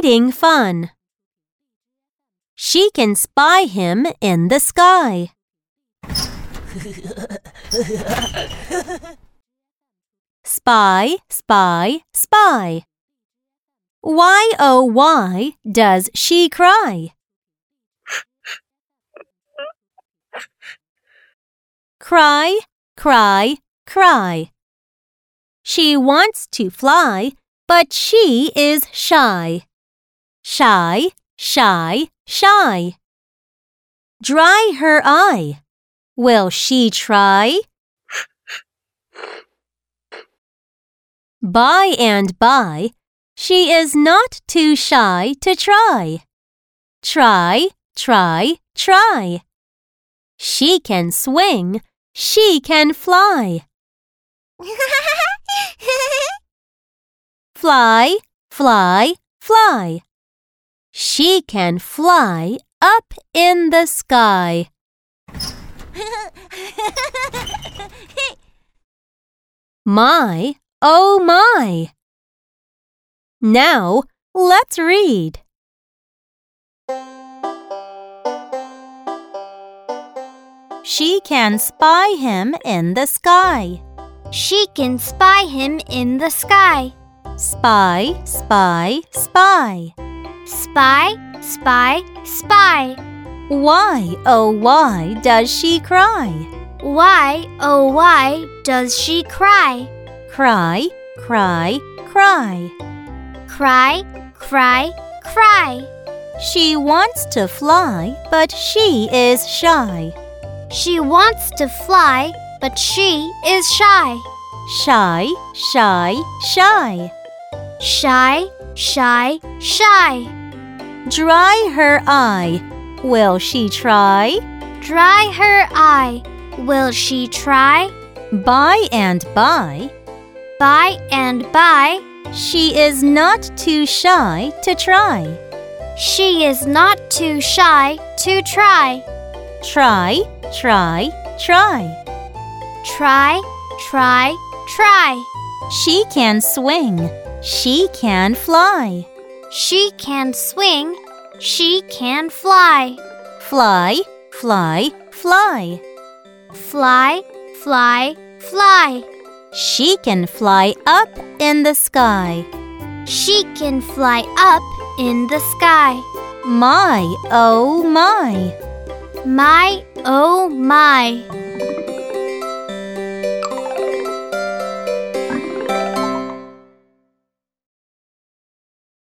Reading fun. She can spy him in the sky. Spy, spy, spy. Why, oh, why does she cry? Cry, cry, cry. She wants to fly, but she is shy. Shy, shy, shy. Dry her eye. Will she try? By and by, she is not too shy to try. Try, try, try. She can swing, she can fly. Fly, fly, fly. She can fly up in the sky. My, oh my. Now, let's read. She can spy him in the sky. She can spy him in the sky. Spy, spy, spy. Spy, spy, spy. Why, oh why does she cry? Why, oh why does she cry? Cry, cry, cry. Cry, cry, cry. She wants to fly, but she is shy. She wants to fly, but she is shy. Shy, shy, shy. Shy, shy, shy. Dry her eye. Will she try? Dry her eye. Will she try? By and by, By and by, she is not too shy to try. she is not too shy to try. Try, try, try. Try, try, try. She can swing. She can fly. She can swing. She can fly. Fly, fly, fly. Fly, fly, fly. She can fly up in the sky. She can fly up in the sky. My, oh my. My, oh my.